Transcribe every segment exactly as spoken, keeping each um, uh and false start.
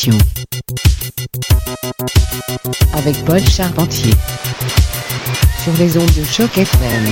question. Avec Paul Charpentier. Sur les ondes de Choc F M.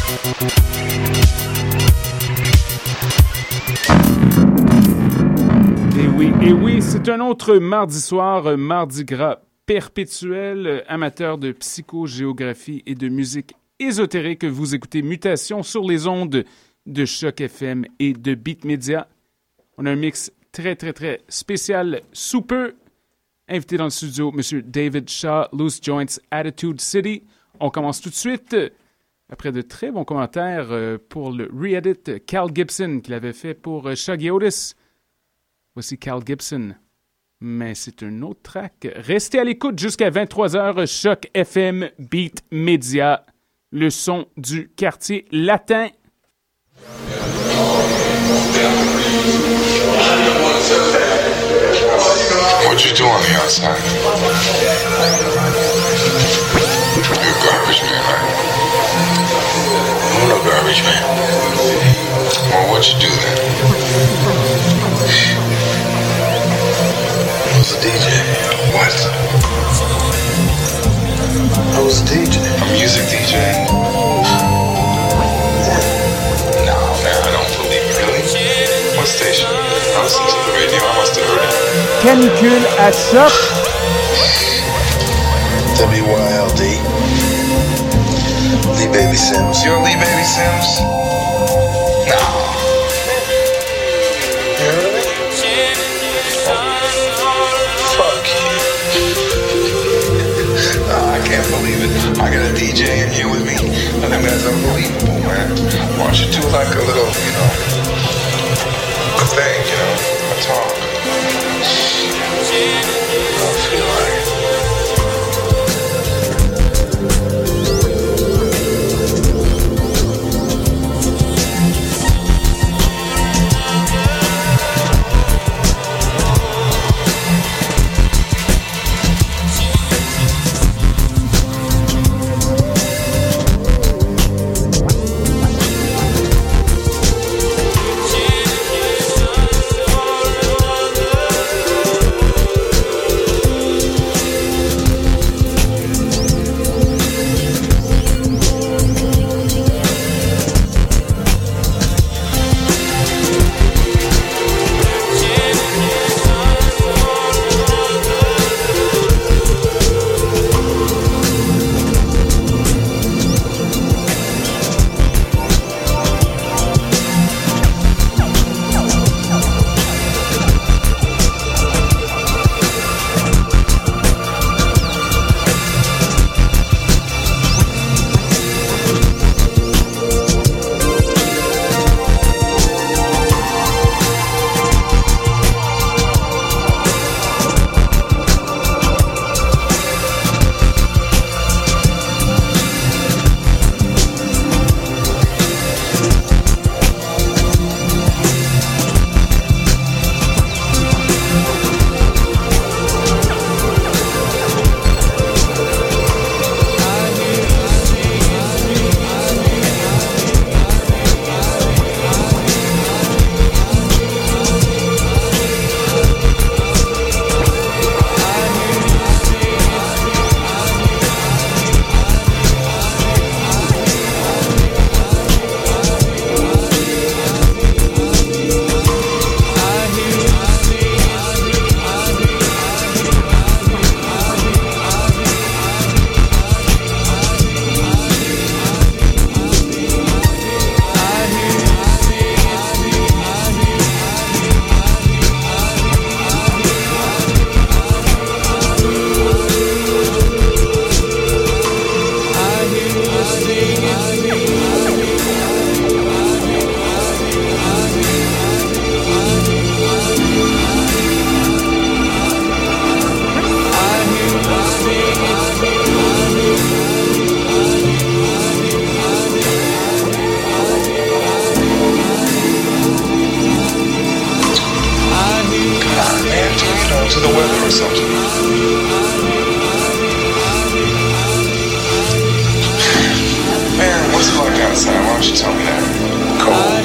Et oui, et oui, c'est un autre mardi soir, mardi gras perpétuel, amateur de psychogéographie et de musique ésotérique. Vous écoutez Mutation sur les ondes de Choc F M et de Beat Media. On a un mix très, très, très spécial sous peu. Invité dans le studio, M. David Shaw, Loose Joints, Attitude City. On commence tout de suite. Après de très bons commentaires pour le re-edit Cal Gibson qu'il avait fait pour Shuggy Otis. Voici Cal Gibson. Mais c'est un autre track. Restez à l'écoute jusqu'à vingt-trois heures. Choc F M, Beat Media. Le son du quartier latin. What you do on the outside? You're a garbage man, right? I'm no garbage man. Well, what you do then? I was a D J. What? I was a D J. A music D J? No, man, I don't believe it. Really? What station? I listened to the radio. I must have heard it. Canicule à Choc. W Y L D. Lee Baby Sims. You're Lee Baby Sims? No. You heard of me? Fuck you. Oh, I can't believe it. I got a D J in here with me. I think that's unbelievable, man. Why don't you do like a little, you know, a thing, you know, a talk. I don't feel like it.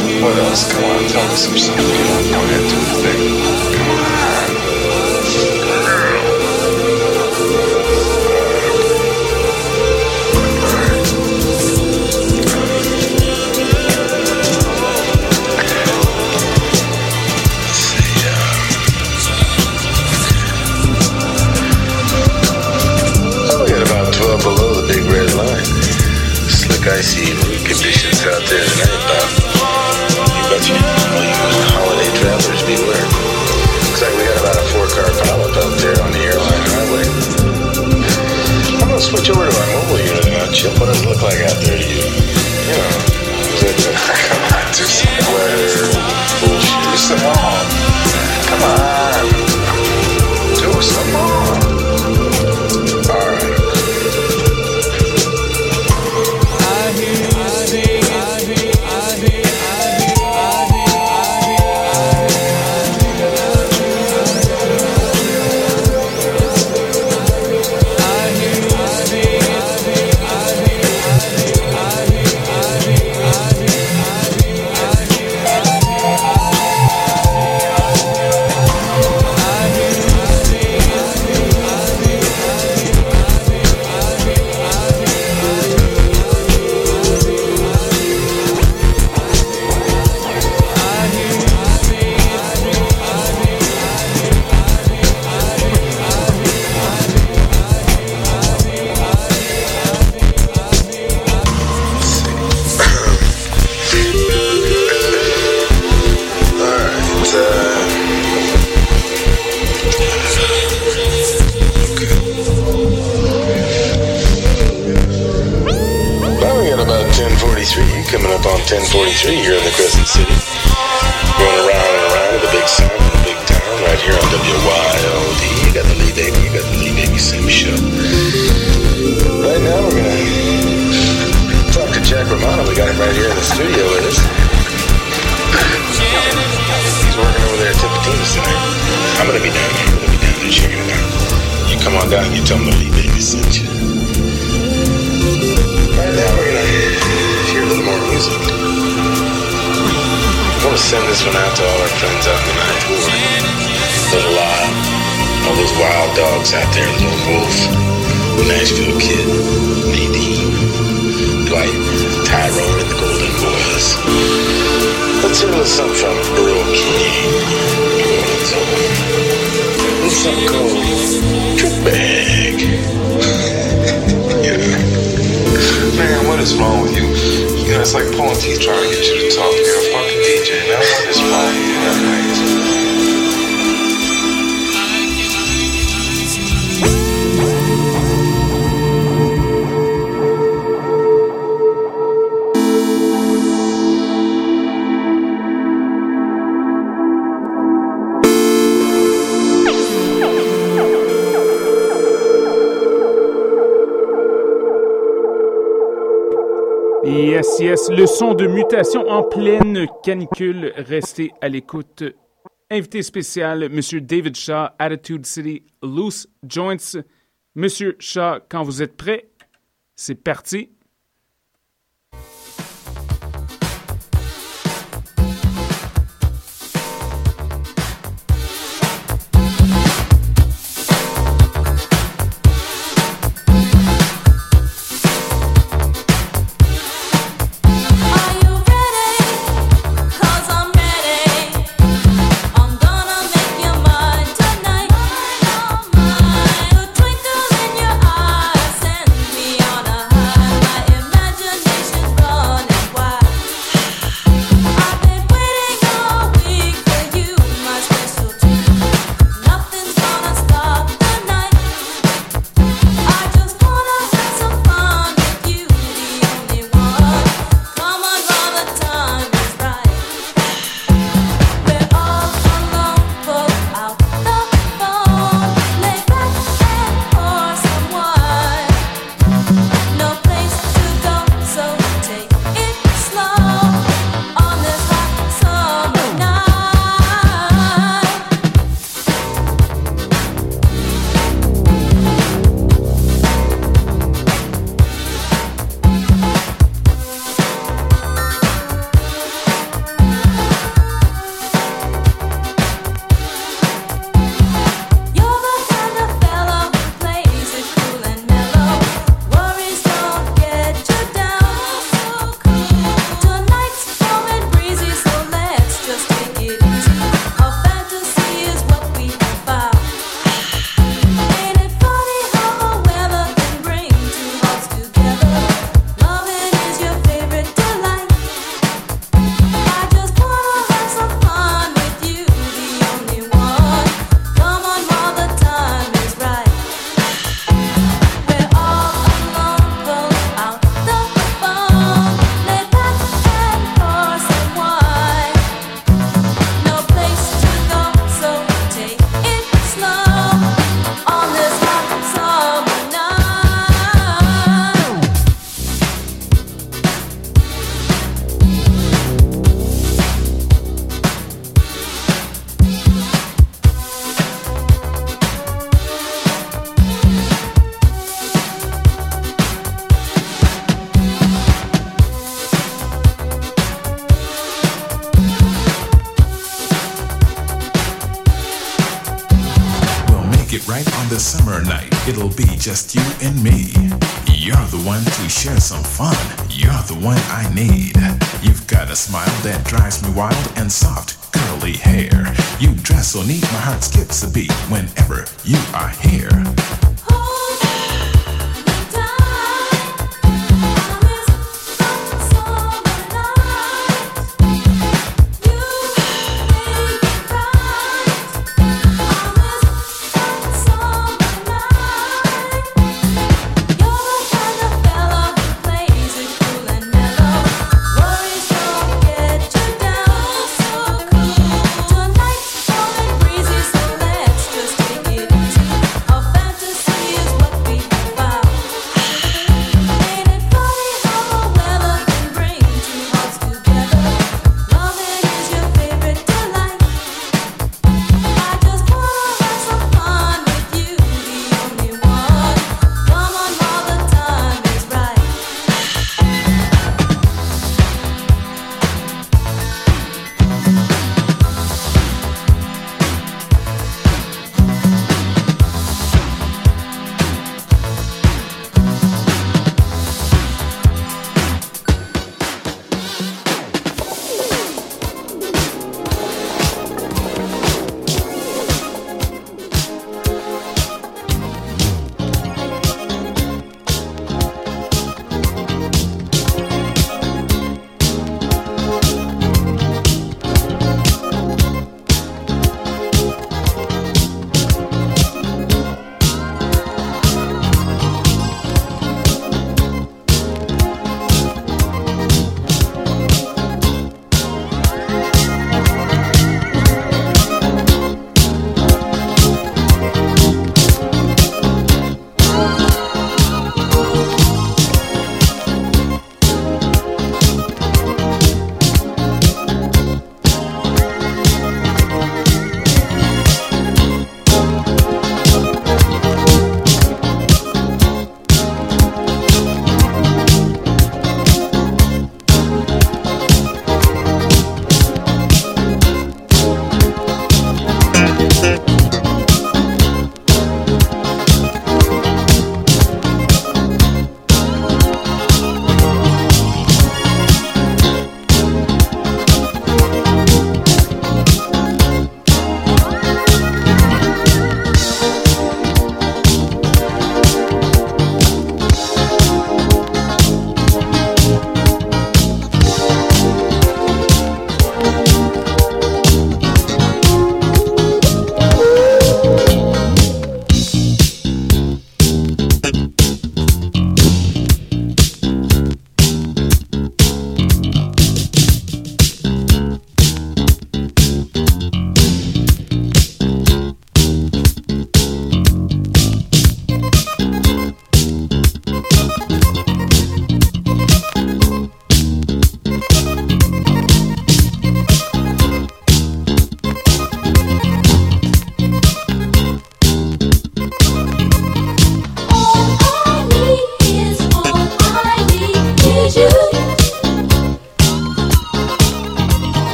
else. Come on, tell me some stuff. Come on, go ahead, do the thing. Come on. like icy conditions out there tonight, Bob. You betcha. All you holiday travelers beware. Looks like we got about a four-car pileup out there on the airline highway. I'm gonna switch over to our mobile unit now, Chip. What does it look like out there to you? You know, come on, do some weather bullshit. Do some more. Come on. Do some more. All right. Coming up on ten forty-three here in the Crescent City. Going around and around with the big sound in the big town right here on W Y O D. You got the Lee Baby, you got the Lee Baby Sim Show. Right now we're going to talk to Jack Romano. We got him right here in the studio with us. He's working over there at Tipitina's tonight. I'm going to be down here. I'm going to be down there checking it out. You come on down and you tell him the Lee Baby sent you. Right now we're going to hear a little more music. I want to send this one out to all our friends out in the ninth ward. Little Lyle, all those wild dogs out there, Little Wolf, Nashville Kid, Nadine, Dwight, Tyrone, and the Golden Boys. Let's hear a little something from Earl King. A little something called Trick Bag. Yeah. Man, what is wrong with you? You know, it's like pulling teeth trying to get you to talk. You're a fucking D J. Now, what is wrong with you? That's crazy. Yes, yes, le son de Mutation en pleine canicule. Restez à l'écoute. Invité spécial, Monsieur David Shaw, Attitude City, Loose Joints. Monsieur Shaw, quand vous êtes prêt, c'est parti. Twinkle in your eyes, send me on a high. right on the summer night. It'll be just you and me. You're the one to share some fun. You're the one I need. You've got a smile that drives me wild and soft, curly hair. You dress so neat, my heart skips a beat whenever you are here.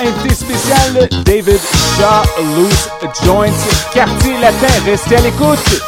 invité spécial, David Shaw, Loose Joints, Quartier Latin. Restez à l'écoute.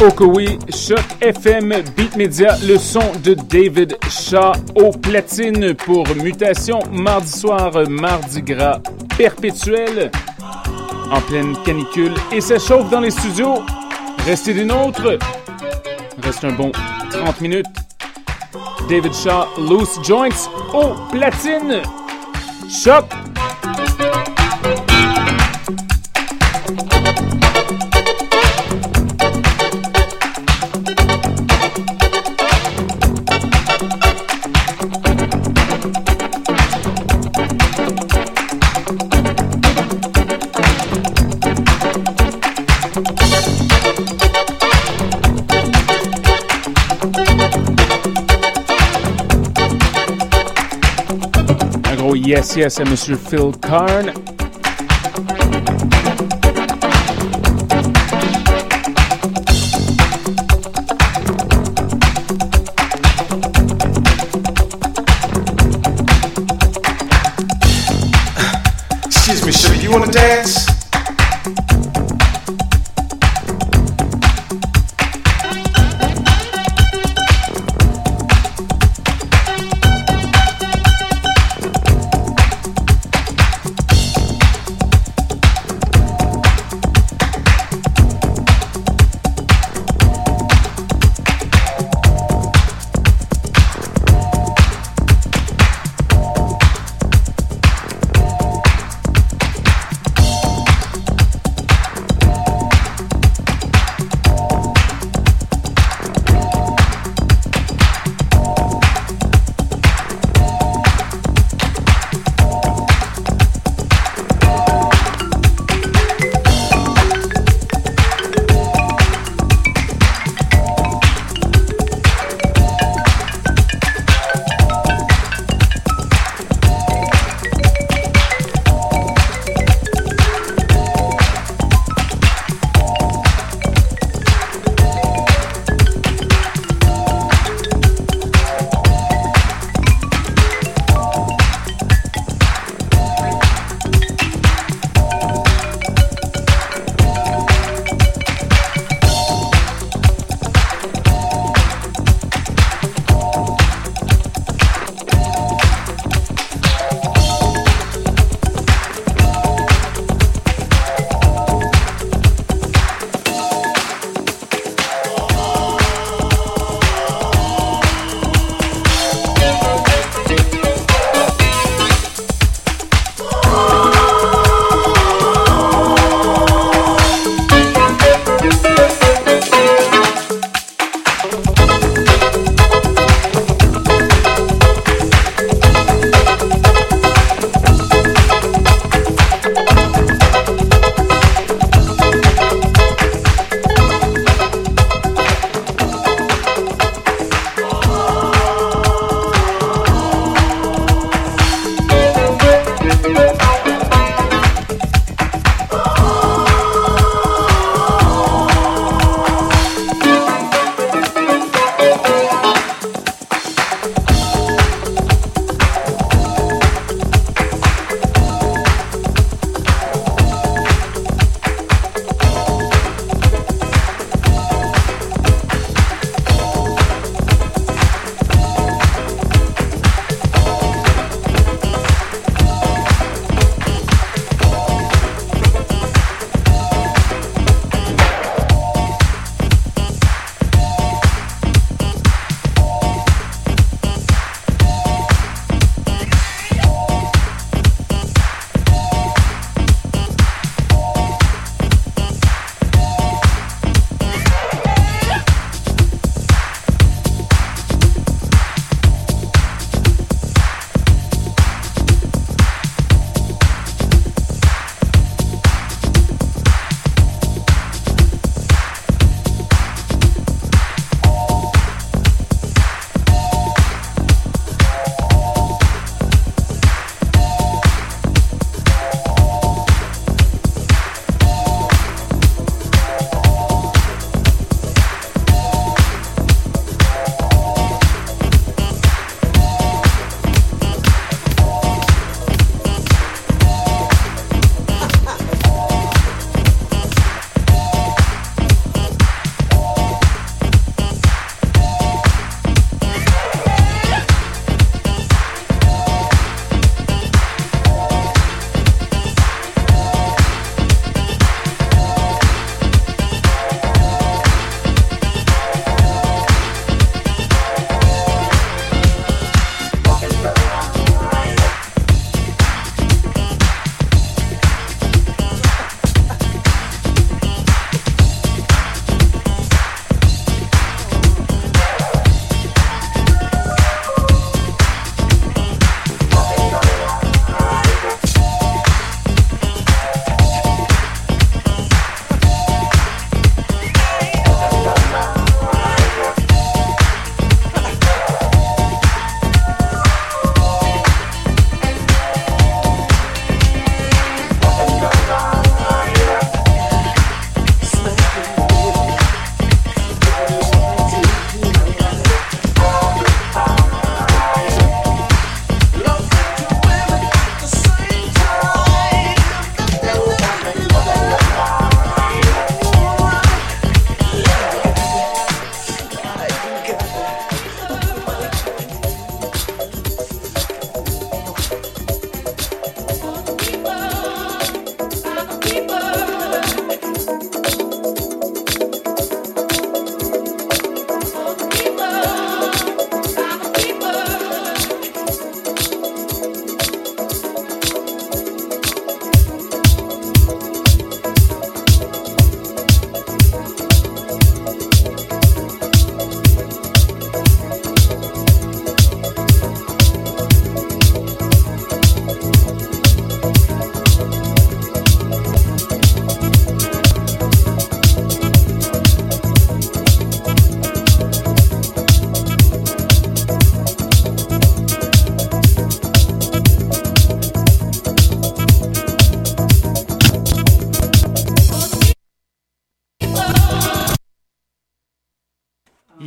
Okowe, Choc F M, Beat Media, le son de David Shaw au platine pour Mutation, mardi soir, Mardi Gras perpétuel, en pleine canicule, et ça chauffe dans les studios. Restez des nôtres. Reste un bon trente minutes. David Shaw, Loose Joints au platine. Choc! Yes, yes, à Monsieur Phil Karn. Excuse me, sugar, you wanna dance?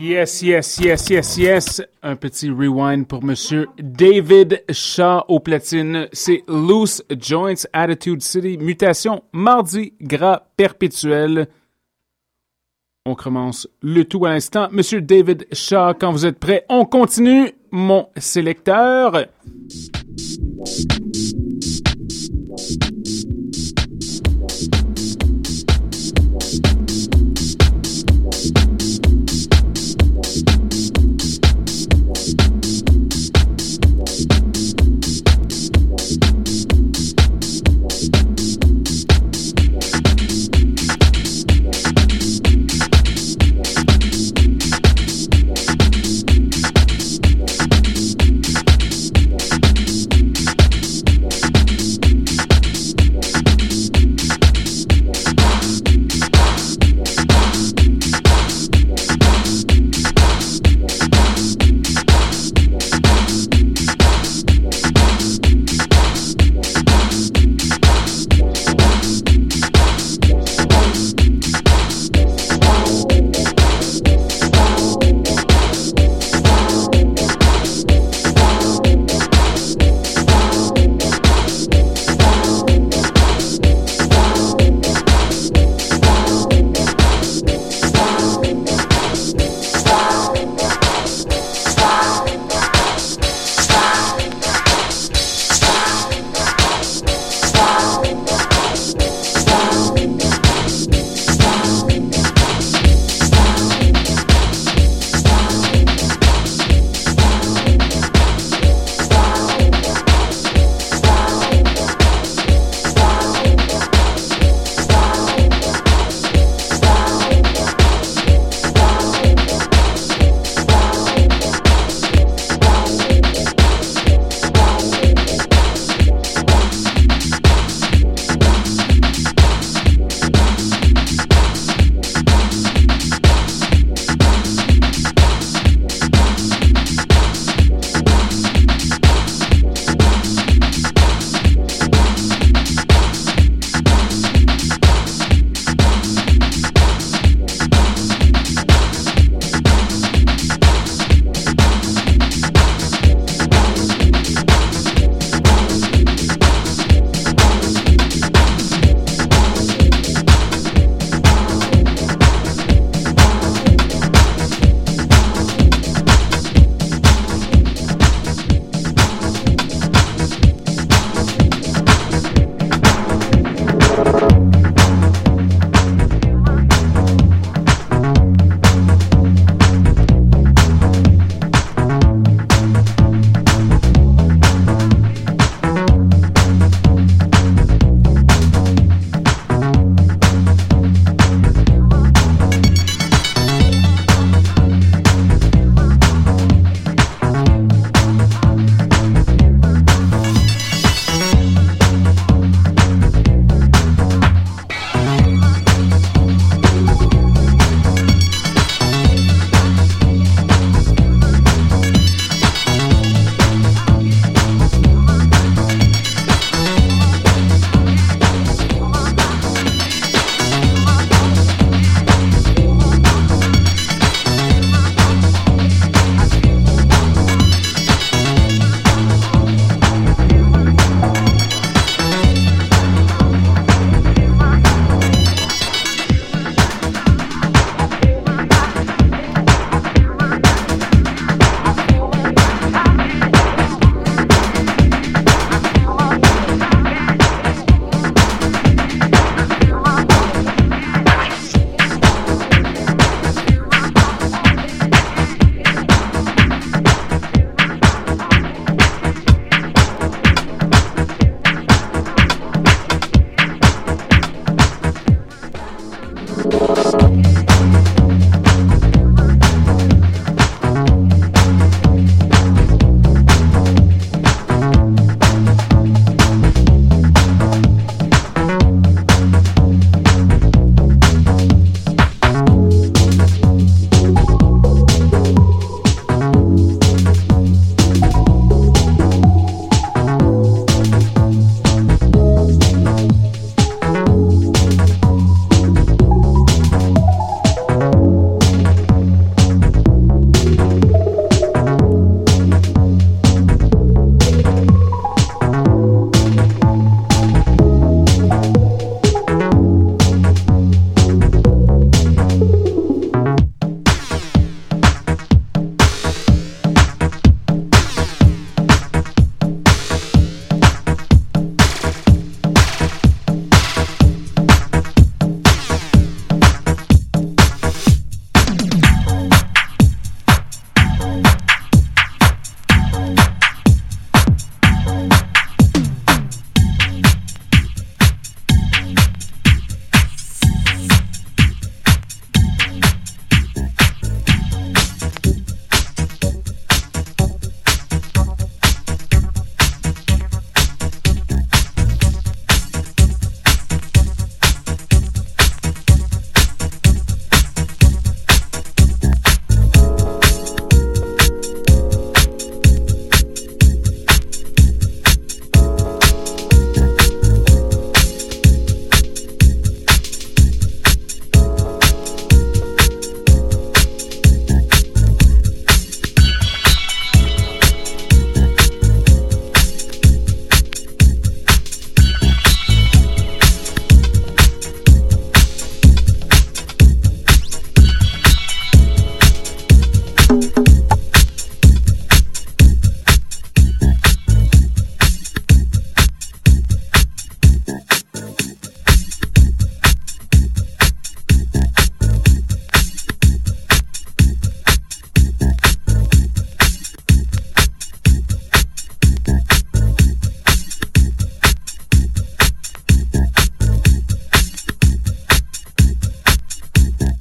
Yes, yes, yes, yes, yes. Un petit rewind pour Monsieur David Shaw au platine. C'est Loose Joints, Attitude City, Mutation, Mardi Gras Perpétuel. On commence le tout à l'instant. Monsieur David Shaw, quand vous êtes prêt, on continue. Mon sélecteur.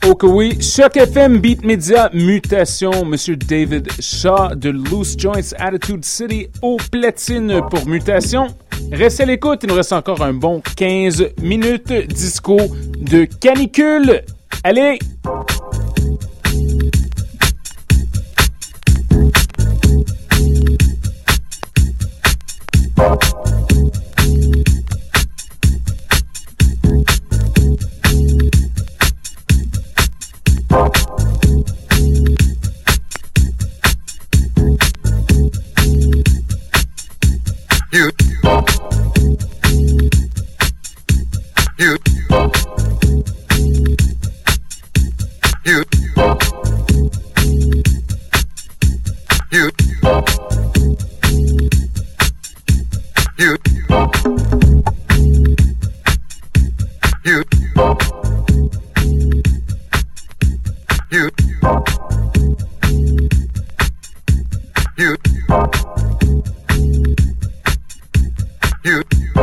Oh que oui, Choc F M, Beat Media, Mutation, Monsieur David Shaw de Loose Joints Attitude City au platine pour Mutation. Restez à l'écoute, il nous reste encore un bon quinze minutes disco de canicule. Allez! You, you, you, you, you, you, you, you, you,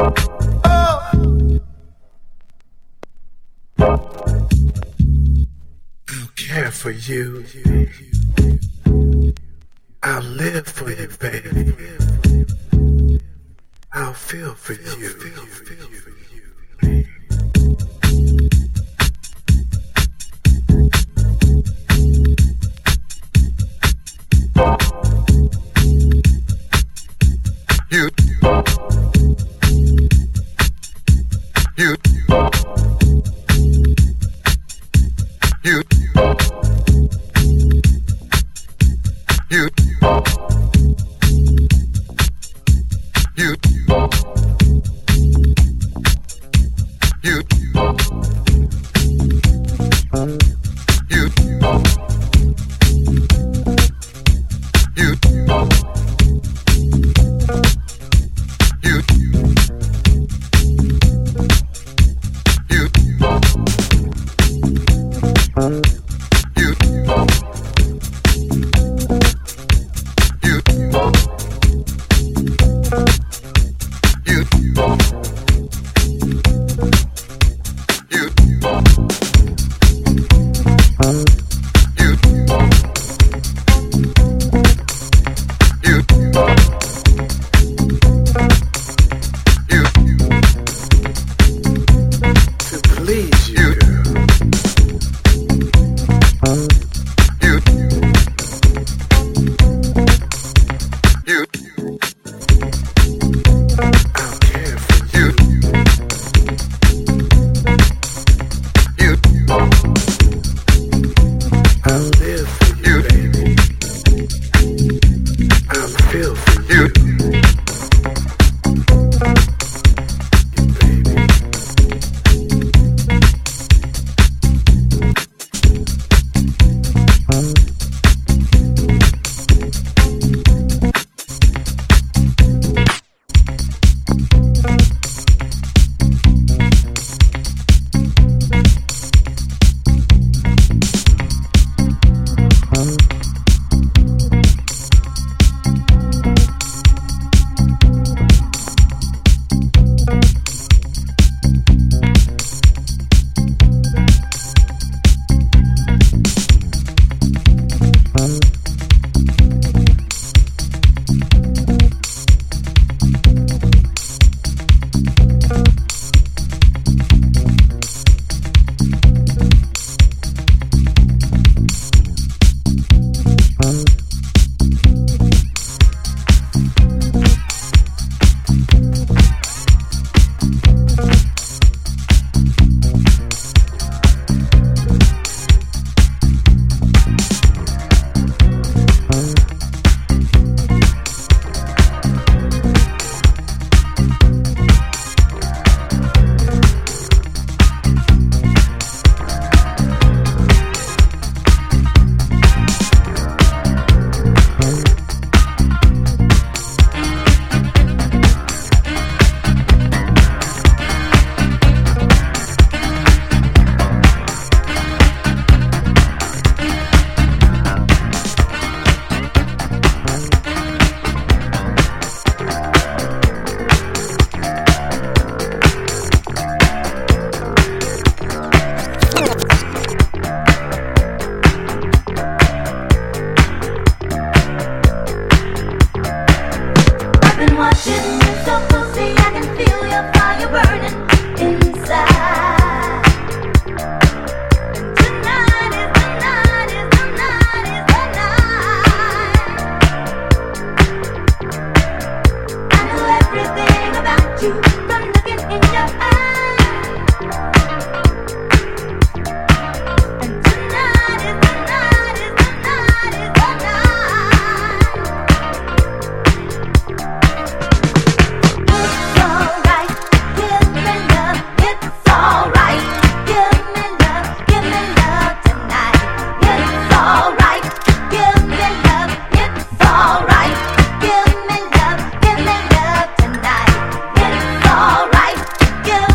I'll care for you. I'll live for you, baby. I'll feel for you. You, you, you, you, you, you, you, you, you, Give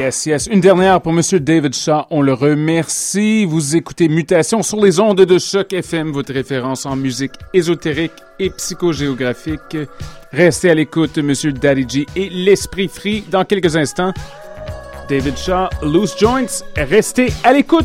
Yes, yes. Une dernière pour Monsieur David Shaw. On le remercie. Vous écoutez Mutation sur les ondes de Choc F M, votre référence en musique ésotérique et psychogéographique. Restez à l'écoute, Monsieur Daddy G et l'Esprit Free. Dans quelques instants, David Shaw, Loose Joints. Restez à l'écoute.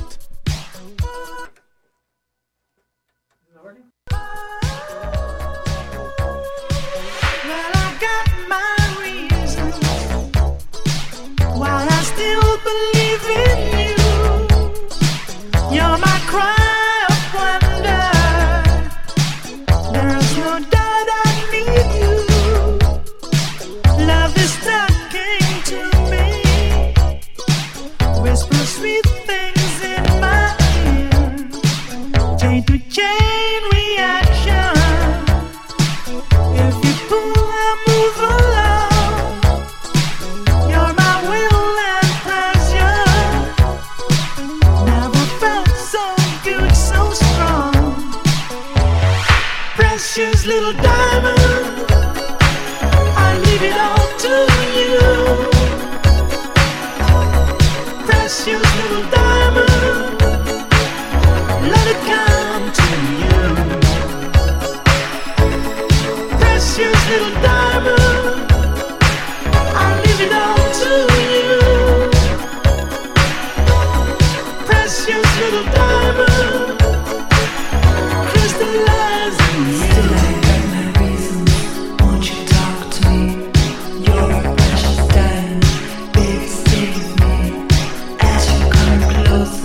Precious little diamond, I leave it all to you. Precious little diamond, let it come to you. Precious little diamond, I leave it all to you. Precious little diamond, crystallize in you. Close.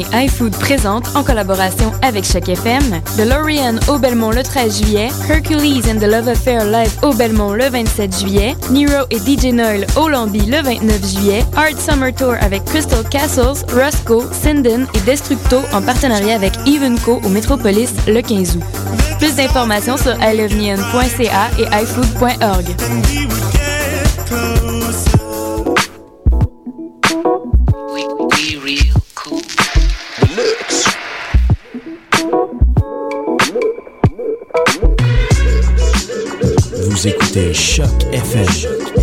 et iFood présentent, en collaboration avec Choc F M, DeLorean au Belmont le treize juillet, Hercules and the Love Affair live au Belmont le vingt-sept juillet, Nero et D J Noel au Lambi le vingt-neuf juillet, Art Summer Tour avec Crystal Castles, Roscoe, Sinden et Destructo en partenariat avec Evenco au Metropolis le quinze août. Plus d'informations sur i love neon point c a et i food point org. Vous écoutez Choc F M.